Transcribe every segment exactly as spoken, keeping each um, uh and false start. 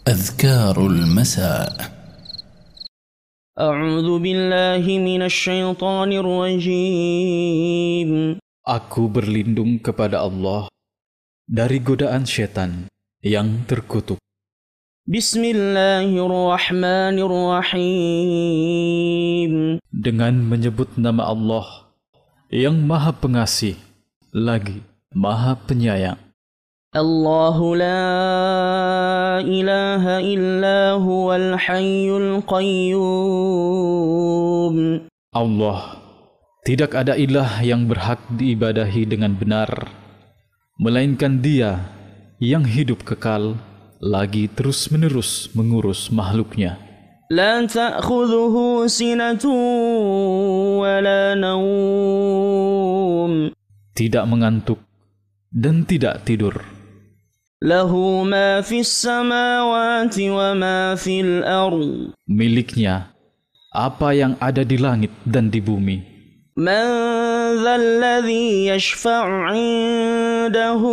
أذكار المساء. أعوذ بالله من الشيطان الرجيم. Aku berlindung kepada Allah dari godaan syaitan yang terkutuk. Bismillahirrahmanirrahim. Dengan menyebut nama Allah yang Maha Pengasih lagi Maha Penyayang. Allahu la ilaha illa huwal hayyul qayyum. Allah, tidak ada ilah yang berhak diibadahi dengan benar, melainkan Dia yang hidup kekal, lagi terus-menerus mengurus makhluknya. La ta'khudhuhu sinatun wa la nawm. Tidak mengantuk dan tidak tidur. Lahu ma fis samawati wa ma fil ardh. Miliknya apa yang ada di langit dan di bumi. Man dzalladzi yashfa'u 'indahu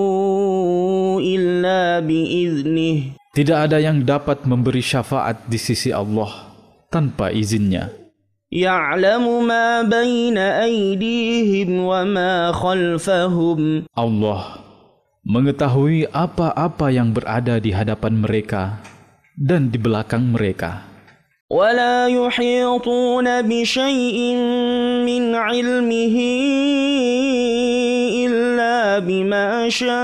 illa biiznih. Tidak ada yang dapat memberi syafaat di sisi Allah tanpa izinnya. Ya'lamu ma baina aydihim wa ma khalfahum. Allah mengetahui apa-apa yang berada di hadapan mereka dan di belakang mereka. وَلَا يُحِيطُونَ بِشَيْءٍ مِّنْ عِلْمِهِ إِلَّا بِمَا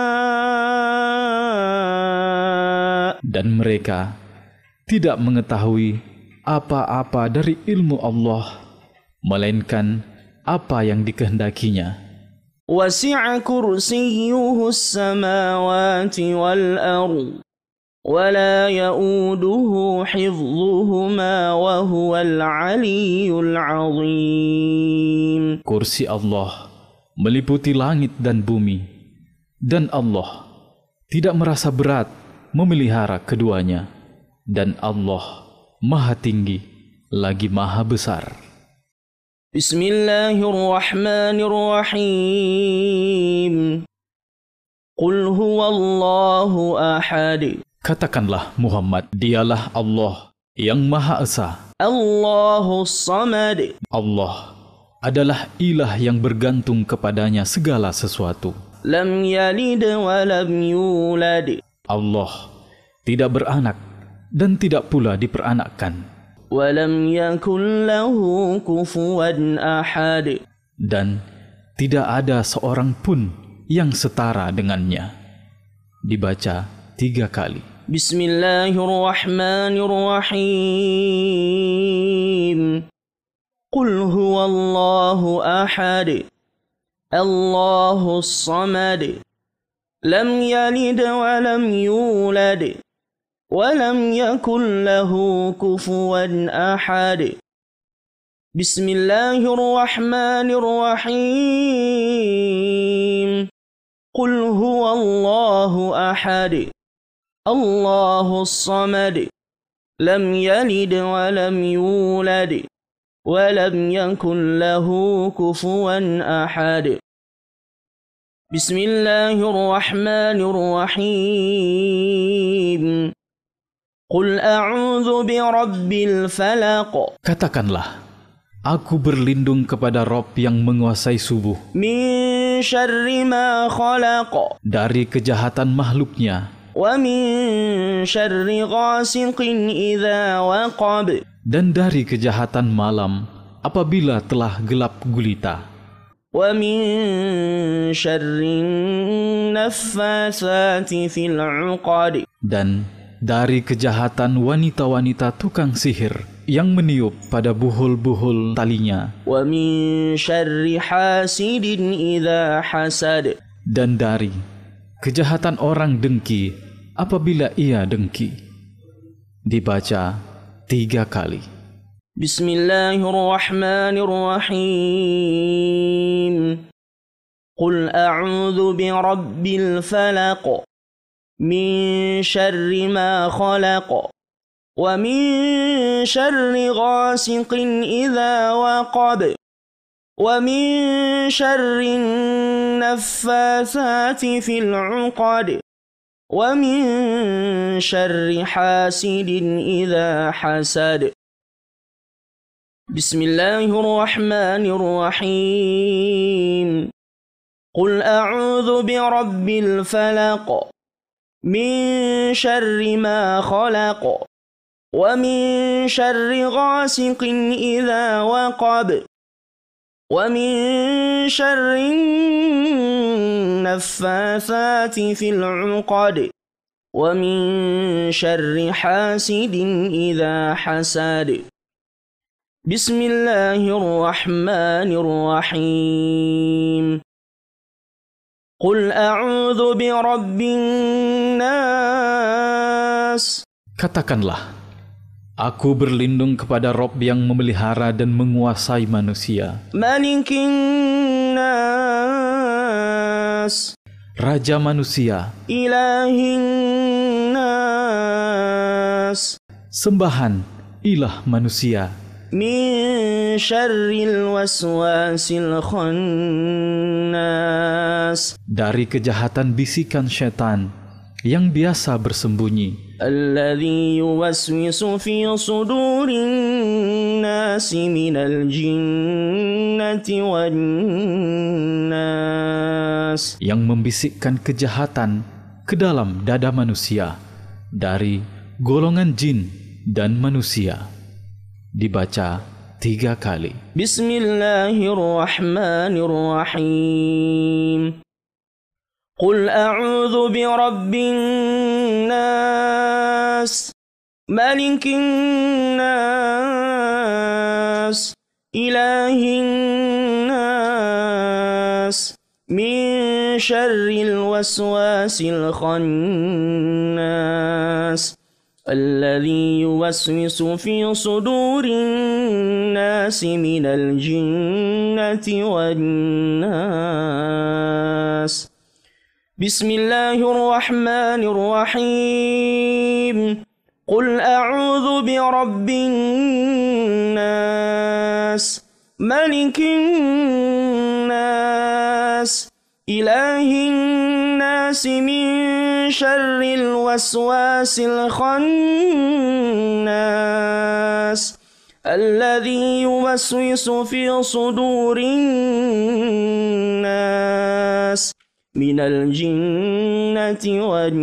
شَاءَ. Dan mereka tidak mengetahui apa-apa dari ilmu Allah, melainkan apa yang dikehendakinya. وَسِعَ كُرْسِيُّهُ السَّمَاوَاتِ وَالْأَرْضِ وَلَا يَؤُودُهُ حِفْظُهُمَا وَهُوَ الْعَلِيُّ الْعَظِيمُ. Kursi Allah meliputi langit dan bumi, dan Allah tidak merasa berat memelihara keduanya, dan Allah Maha Tinggi lagi Maha Besar. Bismillahirrahmanirrahim. Qul huwallahu ahad. Katakanlah Muhammad, dialah Allah yang Maha Esa. Allahus samad. Allah adalah ilah yang bergantung kepadanya segala sesuatu. Lam yalid wa lam yulad. Allah tidak beranak dan tidak pula diperanakkan. Wa lam yakul lahu kufuwan ahad. Dan tidak ada seorang pun yang setara dengannya. Dibaca tiga kali. Bismillahirrahmanirrahim. Qul huwallahu ahad. Allahus samad. Lam yalid wa lam yulad. Wa lam yakul lahu kufuwan ahad. Bismillahirrahmanirrahim. Qul huwallahu ahad. Allahus samad. Lam yalid wa lam yulad. Wa lam yakul lahu kufuwan ahad. Bismillahirrahmanirrahim. Qul a'udzu birabbil falaq. Katakanlah, aku berlindung kepada Rob yang menguasai subuh. Min syarri ma khalaq. Dari kejahatan makhluknya. Wa min syarri ghasiqin idza waqab. Dan dari kejahatan malam apabila telah gelap gulita. Wa min syarri naffatsati fil 'uqad. Dan dari kejahatan wanita-wanita tukang sihir yang meniup pada buhul-buhul talinya. Wa min syarri hasidin idza hasad. Dan dari kejahatan orang dengki apabila ia dengki. Dibaca tiga kali. Bismillahirrahmanirrahim. Qul a'udzu birabbil falaq. Min syarri ma khalaq. Wa min syarri ghasiqin idza waqab. Wa min syarri naffatsati fil 'uqad. ومن شر حاسد إذا حسد بسم الله الرحمن الرحيم قل أعوذ برب الفلق من شر ما خلق ومن شر غاسق إذا وقب ومن شر النفاثات في العقد ومن شر حاسد إذا حسد بسم الله الرحمن الرحيم قل أعوذ برب الناس Katakanlah, aku berlindung kepada Rob yang memelihara dan menguasai manusia, Malikin nas, Raja manusia, Ilahin nas, sembahan ilah manusia, Min syarril waswasil khannas, dari kejahatan bisikan syaitan yang biasa bersembunyi, Alladhi yuwaswisu fi sudurin nasi minal jinnati wan nas, yang membisikkan kejahatan ke dalam dada manusia dari golongan jin dan manusia. Dibaca tiga kali. Bismillahirrahmanirrahim. Qul a'udzu birabbin nas, malikin nas, ilahin nas, min syarril waswasil khannas, alladhi yuwaswisu fi sudurin nasi minal jinnati wan nas. Bismillahirrahmanirrahim. Qul a'udzu birabbin nas, malikin nas, ilahin nas, min syarril waswasil khannas, alladhi yuwaswisu fi sudurin nas minal jinnati wan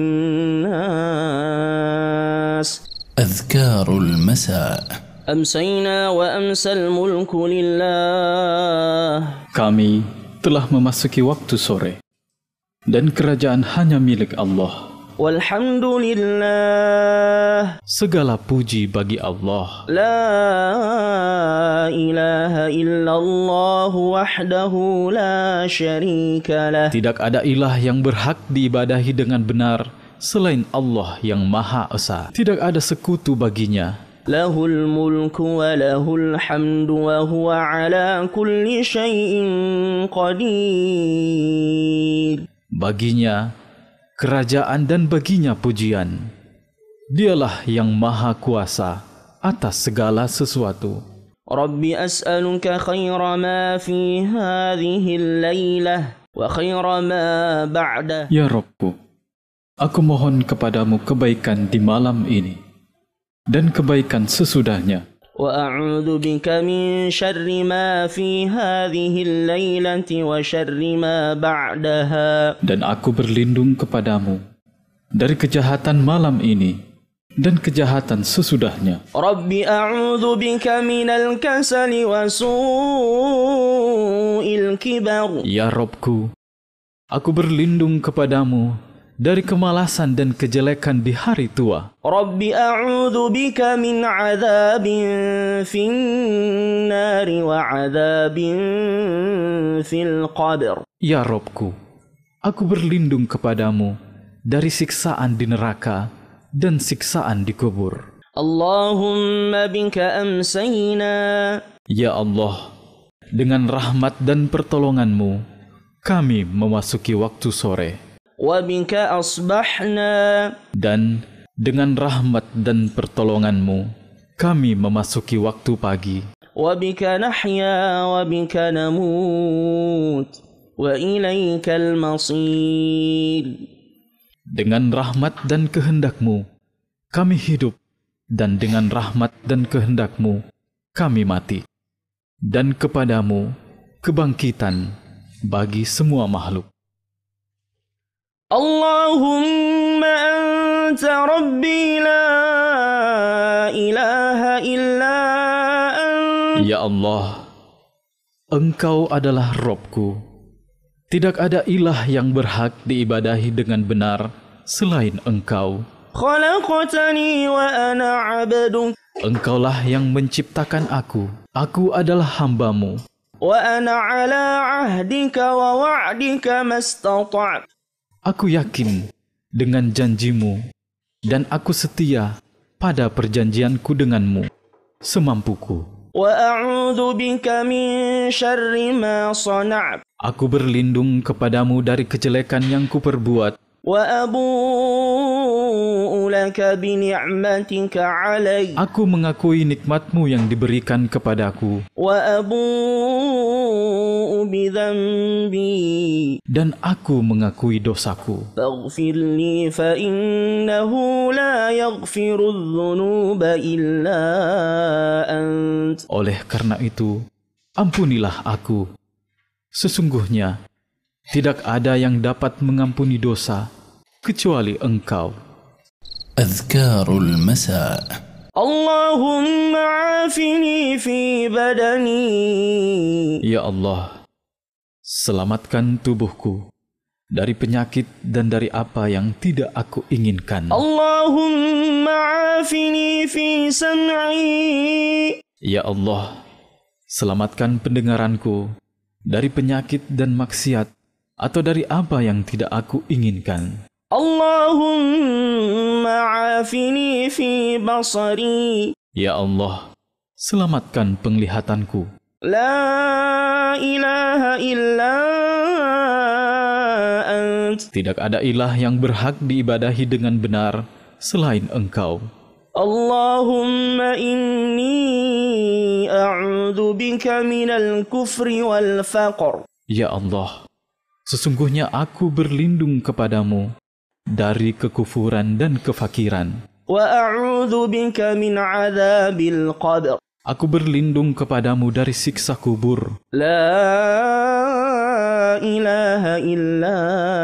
nas. أذكار المساء. أمسينا وأمسى الملك لله. Kami telah memasuki waktu sore dan kerajaan hanya milik Allah. Walhamdulillah. Segala puji bagi Allah. La ilaha illallah wahdahu la syarika lah. Tidak ada ilah yang berhak diibadahi dengan benar selain Allah yang Maha Esa. Tidak ada sekutu baginya. Lahul mulku wa lahul hamdu wa huwa ala kulli syai'in qadir. Baginya kerajaan dan baginya pujian. Dialah yang Maha Kuasa atas segala sesuatu. Rabbi as'aluka khaira ma fi hadhihi al-lailah wa khaira ma ba'dah. Ya Rabbku, aku mohon kepadamu kebaikan di malam ini dan kebaikan sesudahnya. Wa a'udzu bika min syarri ma fi hadhihi al-lailati wa syarri ma ba'daha. Dan aku berlindung kepadamu dari kejahatan malam ini dan kejahatan sesudahnya. Rabbi a'udzu bika minal kasali wa su'il kibar. Ya Rabbku, aku berlindung kepadamu dari kemalasan dan kejelekan di hari tua. Rabbi a'udzu bika min 'adzabin fin nari wa 'adzabin fil qabr. Ya Rabbku, aku berlindung kepadamu dari siksaan di neraka dan siksaan di kubur. Allahumma bika amsayna. Ya Allah, dengan rahmat dan pertolonganmu kami memasuki waktu sore. Wa bika asbahna. Dan dengan rahmat dan pertolonganmu kami memasuki waktu pagi. Wa bika nahya wa bika namut wa ilaikal masir. Dengan rahmat dan kehendak-Mu kami hidup, dan dengan rahmat dan kehendak-Mu kami mati. Dan kepadamu kebangkitan bagi semua makhluk. Allahumma anta rabbi la ilaha illa anta. Ya Allah, Engkau adalah Robku. Tidak ada ilah yang berhak diibadahi dengan benar selain Engkau. Khalaqtani wa ana 'abduk. Engkaulah yang menciptakan aku. Aku adalah hamba-Mu. Wa ana 'ala 'ahdika wa wa'dika mastata'. Aku yakin dengan janji-Mu, dan aku setia pada perjanjianku dengan-Mu semampuku. Wa a'udzu bika min syarri ma sana'tu. Aku berlindung kepadamu dari kejelekan yang kuperbuat. Wa abu'u laka bi ni'matika 'alayya. Aku mengakui nikmat-Mu yang diberikan kepadaku. Wa abu'u bi dhanbi. Dan aku mengakui dosaku. Faghfir li fa innahu la yaghfiru adh-dhunuba illa ant. Oleh karena itu, ampunilah aku. Sesungguhnya tidak ada yang dapat mengampuni dosa kecuali Engkau. Adhkarul Masa. Allahumma afini fi badani. Ya Allah, selamatkan tubuhku dari penyakit dan dari apa yang tidak aku inginkan. Allahumma afini fi sam'i. Ya Allah, selamatkan pendengaranku dari penyakit dan maksiat atau dari apa yang tidak aku inginkan. Allahumma afini fi basari. Ya Allah, selamatkan penglihatanku. La ilaha illa ant. Tidak ada ilah yang berhak diibadahi dengan benar selain Engkau. Allahumma inni a'udzu bika minal kufri wal faqr. Ya Allah, sesungguhnya aku berlindung kepadamu dari kekufuran dan kefakiran. Wa a'udzu bika min 'adzabil qabr. Aku berlindung kepadamu dari siksa kubur. La ilaha illa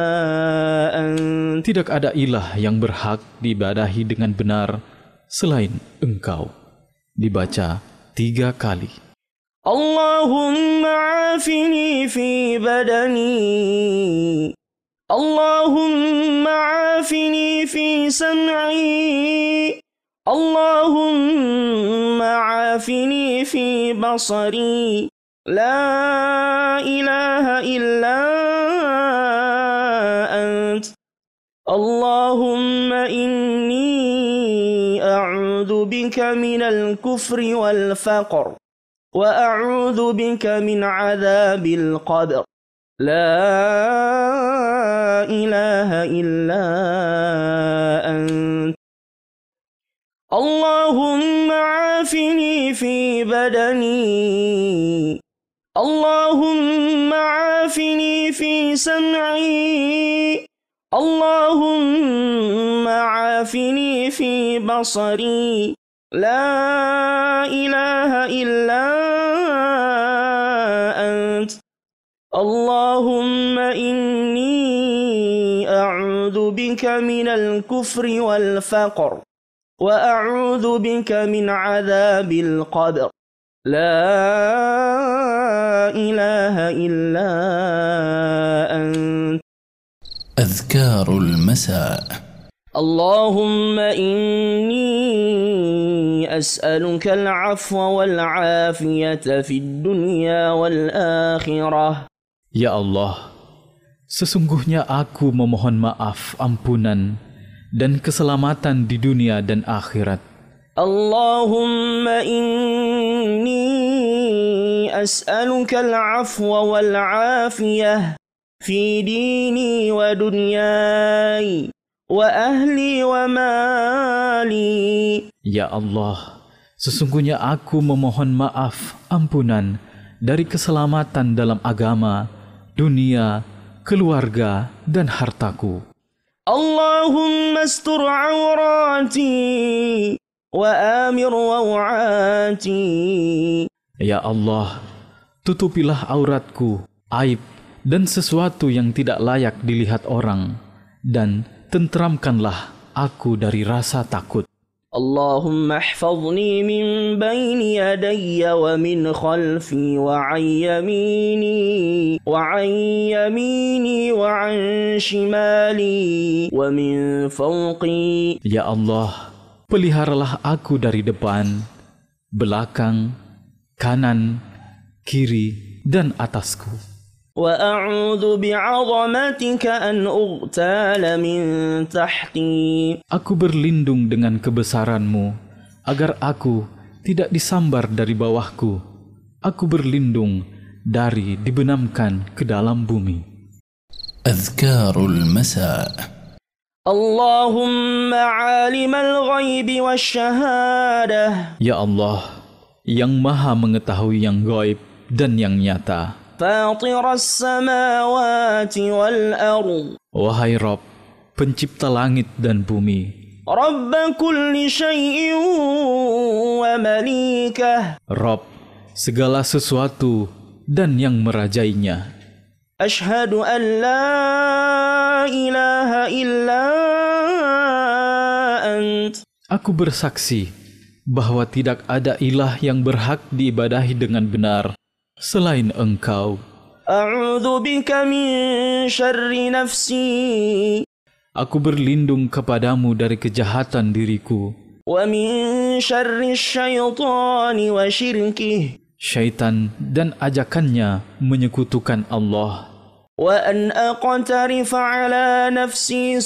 ant. Tidak ada ilah yang berhak diibadahi dengan benar selain Engkau. Dibaca tiga kali. Allahumma afini fi badani. Allahumma afini fi sam'i. Allahumma afini fi basari. La ilaha illa ant. Allahumma inni a'udzu bika minal kufri wal faqr. Wa a'udzu bika min 'adzabil qabr. La ilaha illa ant. Allahumma afini fi badani. Allahumma afini fi sam'i. Allahumma afini fi basari. La ilaha illa ant. Allahumma inni a'udzu bika minal kufri wal faqr. Wa a'udzu bika min 'adzabil qabr. La ilaha illa ant. Adhkarul Masa. اللهم إني أسألك العفو والعافية في الدنيا والآخرة. Ya Allah, sesungguhnya aku memohon maaf, ampunan, dan keselamatan di dunia dan akhirat. Allahumma inni as'aluka al-'afwa wal-'afiyah fi dini wa dunyai wa ahli wa mali. Ya Allah, sesungguhnya aku memohon maaf, ampunan, dari keselamatan dalam agama, dunia, keluarga, dan hartaku. اللهم استر عوراتي وآمر روعاتي. Ya Allah, tutupilah auratku, aib, dan sesuatu yang tidak layak dilihat orang, dan tenteramkanlah aku dari rasa takut. اللهم احفظني من بين يدي ومن خلفي وعن يميني وعن يميني وعن شمالي ومن فوقي. Ya Allah, peliharalah aku dari depan, belakang, kanan, kiri, dan atasku. وأعوذ بعظمتك أن أغتال من تحتي. Aku berlindung dengan kebesaran-Mu agar aku tidak disambar dari bawahku. Aku berlindung dari dibenamkan ke dalam bumi. أذكار المساء. اللهم عالم الغيب والشهادة. Ya Allah, yang maha mengetahui yang gaib dan yang nyata. فاطر السماوات والأرض. Wahai Rabb, pencipta langit dan bumi. رب كل شيء ومليكه. Rabb, segala sesuatu dan yang merajainya. أشهد أن لا إله إلا أنت. Aku bersaksi bahwa tidak ada ilah yang berhak diibadahi dengan benar selain Engkau. أعوذ بك من شر نفسي. Aku berlindung kepadamu dari kejahatan diriku, ومن شر الشيطان وشركه. syaitan dan ajakannya menyekutukan Allah. وأن أقترف على نفسي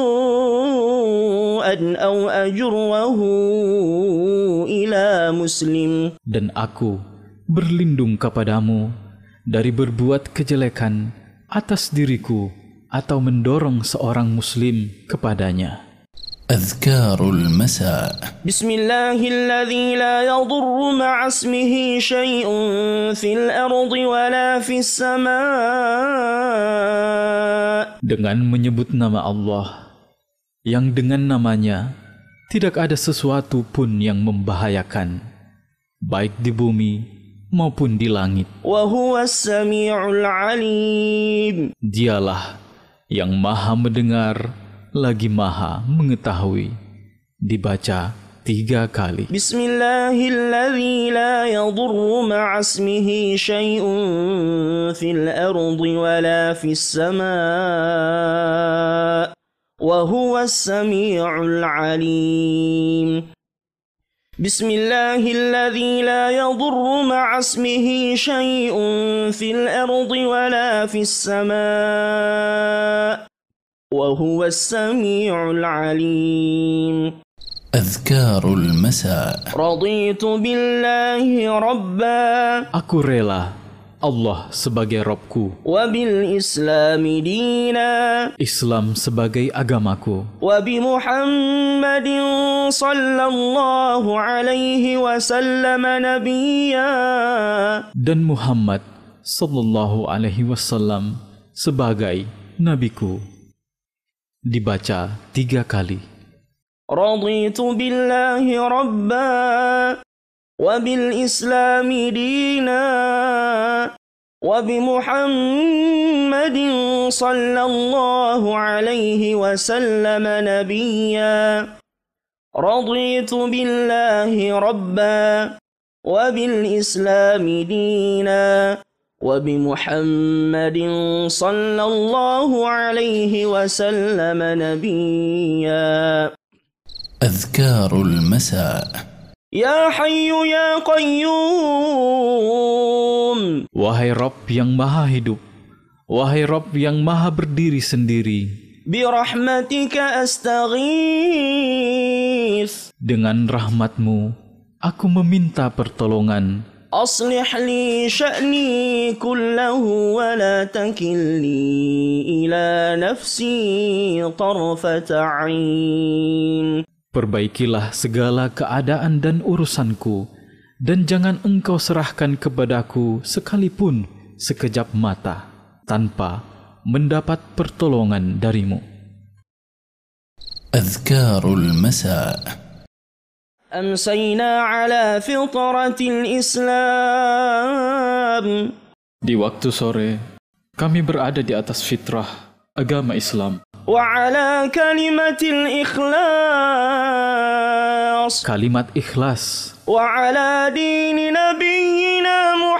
سوءا أو أجره إلى مسلم. Dan aku berlindung kepadamu dari berbuat kejelekan atas diriku atau mendorong seorang muslim kepadanya. أذكار المساء. بسم الله الذي لا يضر مع اسمه شيء في الأرض ولا في السماء. Dengan menyebut nama Allah, yang dengan namanya tidak ada sesuatu pun yang membahayakan, baik di bumi maupun di langit. وهو السميع العليم. Dialah yang maha mendengar lagi maha mengetahui. Dibaca tiga kali. بسم الله الذي لا يضر مع اسمه شيء في الأرض ولا في السماء وهو السميع العليم. بسم الله الذي لا يضر مع اسمه شيء في الأرض ولا في السماء وهو السميع العليم. أذكار المساء. رضيت بالله ربا. Aku rela Allah sebagai Rabbku, وبالإسلام دينا. Islam sebagai agamaku, وبمحمد صلى الله عليه وسلم نبيا. dan Muhammad sallallahu alaihi wasallam sebagai nabiku. Dibaca tiga kali. رضيت بالله ربا وبالإسلام دينا وبمحمد صلى الله عليه وسلم نبيا. رضيت بالله ربا وبالإسلام دينا وبمحمد صلى الله عليه وسلم نبيا. أذكار المساء. يا حي يا قيوم. Wahai Rabb yang maha hidup, wahai Rabb yang maha berdiri sendiri, برحمتك أستغيث. dengan rahmat-Mu aku meminta pertolongan. أصلح لي شأني كله ولا تكلني إلى نفسي طرفة عين. Perbaikilah segala keadaan dan urusanku, dan jangan Engkau serahkan kepadaku sekalipun sekejap mata, tanpa mendapat pertolongan darimu. أذكار المساء. أمسينا على فطرة الإسلام. Di waktu sore, kami berada di atas fitrah agama Islam. وعلى كلمة الإخلاص. Kalimat ikhlas. وعلى دين نبينا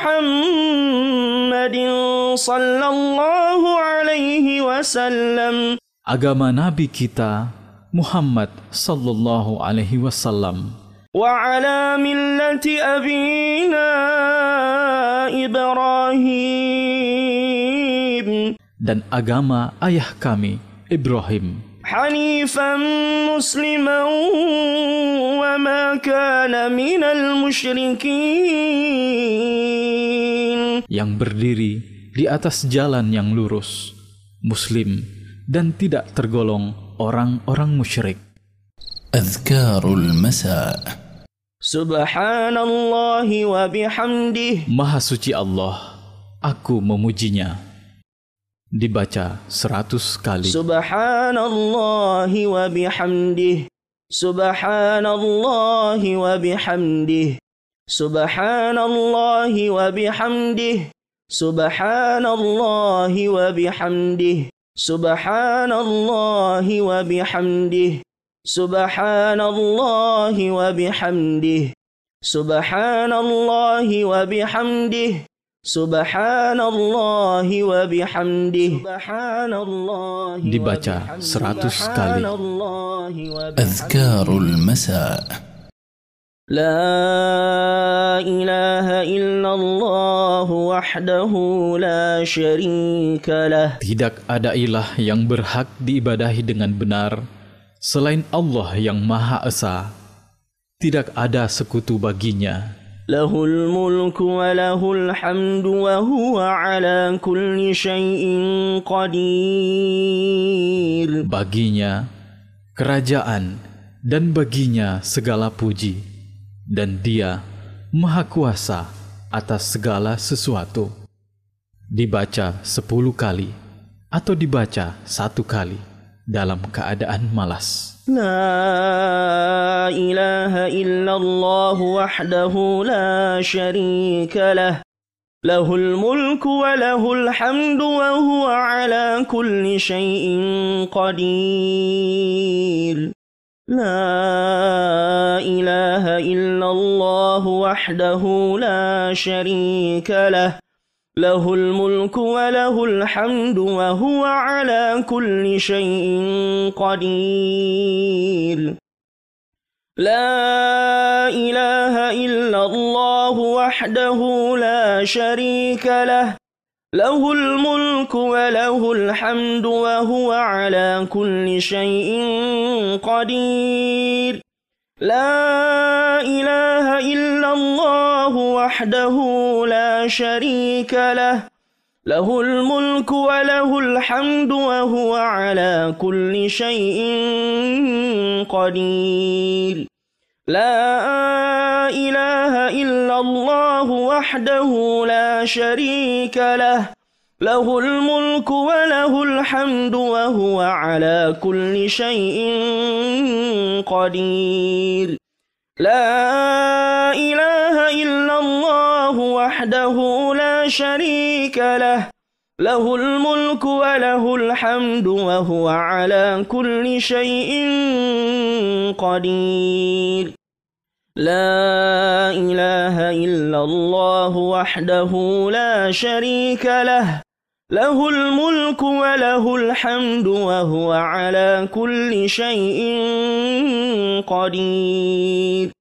محمد صلى الله عليه وسلم. Agama Nabi kita Muhammad sallallahu alaihi wasallam. وعلى ملة أبينا إبراهيم. Dan agama ayah kami Ibrahim. حنيفا مسلما وما كان من المشركين. Yang berdiri di atas jalan yang lurus, muslim, dan tidak tergolong orang-orang musyrik. أذكار المساء. سبحان الله وبحمده. Maha suci Allah, aku memujinya. Dibaca seratus kali. Subhanallah wa bihamdih. Subhanallah wa bihamdih. Subhanallah wa bihamdih. Subhanallah wa bihamdih. Subhanallah wa bihamdih. Subhanallah wa bihamdih. Subhanallah wa bihamdih. Subhanallah wa bihamdih. Dibaca seratus kali. أذكار المساء. لا إله إلا الله وحده لا شريك له. Tidak ada ilah yang berhak diibadahi dengan benar selain Allah yang Maha Esa. Tidak ada sekutu baginya. له الملك وله الحمد وهو على كل شيء قدير. Baginya kerajaan dan baginya segala puji, dan Dia Maha Kuasa atas segala sesuatu. Dibaca sepuluh kali atau dibaca satu kali dalam keadaan malas. لا إله إلا الله وحده لا شريك له له الملك وله الحمد وهو على كل شيء قدير. لا إله إلا الله وحده لا شريك له له الملك وله الحمد وهو على كل شيء قدير. لا إله إلا الله وحده لا شريك له له الملك وله الحمد وهو على كل شيء قدير. لا إله إلا الله وحده لا شريك له له الملك وله الحمد وهو على كل شيء قدير. لا إله إلا الله وحده لا شريك له له الملك وله الحمد وهو على كل شيء قدير. لا إله إلا الله وحده لا شريك له له الملك وله الحمد وهو على كل شيء قدير. لا إله إلا الله وحده لا شريك له له الملك وله الحمد وهو على كل شيء قدير.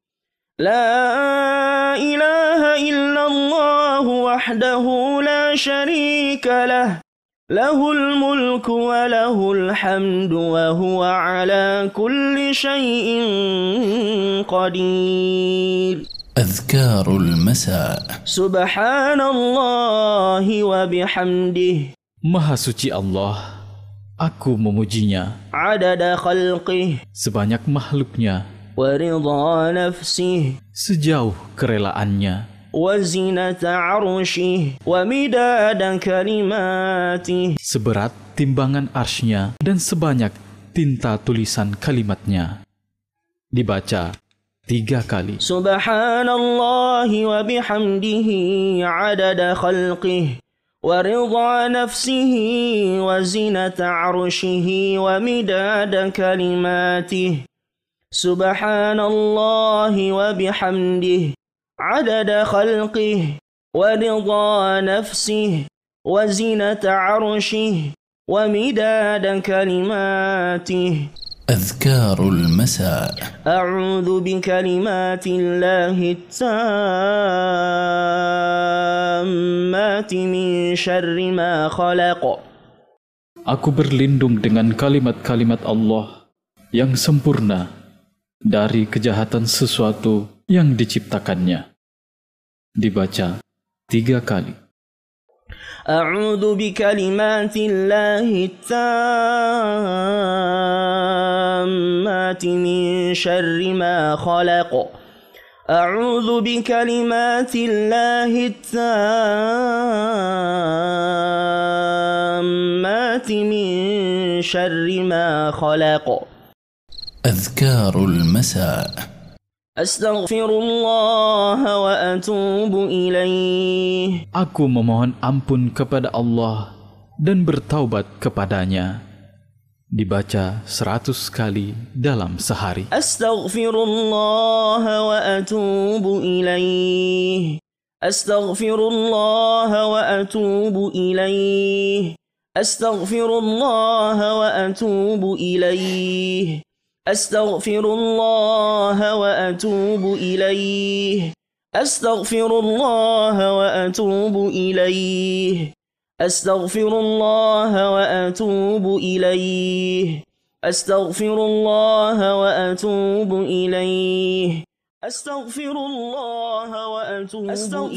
لا إله إلا الله وحده لا شريك له له الملك وله الحمد وهو على كل شيء قدير. أذكار المساء. سبحان الله وبحمده. Maha suci Allah, aku memujinya. عدد خلقه. Sebanyak makhluknya. ورضا نفسه. Sejauh kerelaannya. وزنة عرشه ومداد كلماته. Seberat timbangan arsy-Nya dan sebanyak tinta tulisan kalimatnya. Dibaca tiga kali. Subhanallahi wa bihamdihi adada khalqih wa ridha nafsihi wa zinata arshihi wa midada kalimatih. Subhanallahi wa bihamdihi adada khalqih wa ridha nafsihi wa zinata arshihi wa midada kalimatih. أذكار المساء. أعوذ بكلمات الله التامات من شر ما خلق. Aku berlindung dengan kalimat-kalimat Allah yang sempurna dari kejahatan sesuatu yang diciptakannya. Dibaca tiga kali. أعوذ بكلمات الله التامات من شر ما خلق. أعوذ بكلمات الله التامات من شر ما خلق. أذكار المساء. أستغفر الله وأتوب إليه. Aku memohon ampun kepada Allah dan bertaubat kepadanya. Dibaca seratus kali dalam sehari. أستغفر الله وأتوب إليه. أستغفر الله وأتوب إليه. أستغفر الله وأتوب إليه. أستغفر الله وأتوب إليه. أستغفر الله وأتوب إليه. أستغفر الله وأتوب إليه. أستغفر الله وأتوب إليه. أستغفر الله وأتوب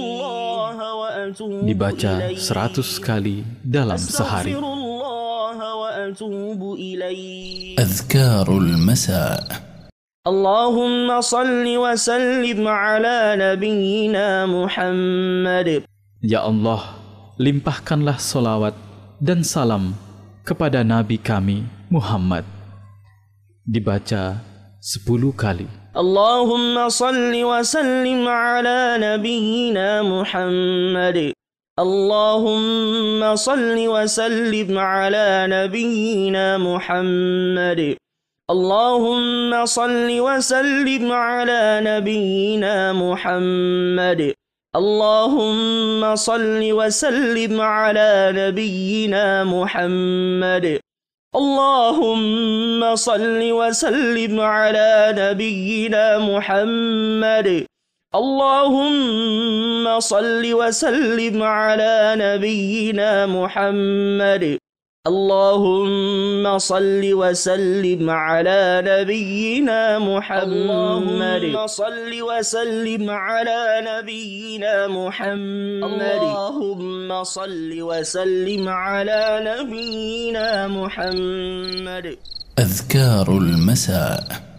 إليه. Dibaca seratus kali dalam sehari. أذكار المساء. اللهم صل وسلم على نبينا محمد. Ya Allah, limpahkanlah salawat dan salam kepada Nabi kami Muhammad. Dibaca sepuluh kali. اللهم صل وسلم على نبينا محمد. اللهم صل وسلم على نبينا محمد. اللهم صل وسلم على نبينا محمد. اللهم صل وسلم على نبينا محمد. اللهم صل وسلم على نبينا محمد. اللهم صل وسلم على نبينا محمد. اللهم صل وسلم على نبينا محمد. اللهم صل وسلم على نبينا محمد. اللهم صل وسلم على نبينا محمد. أذكار المساء.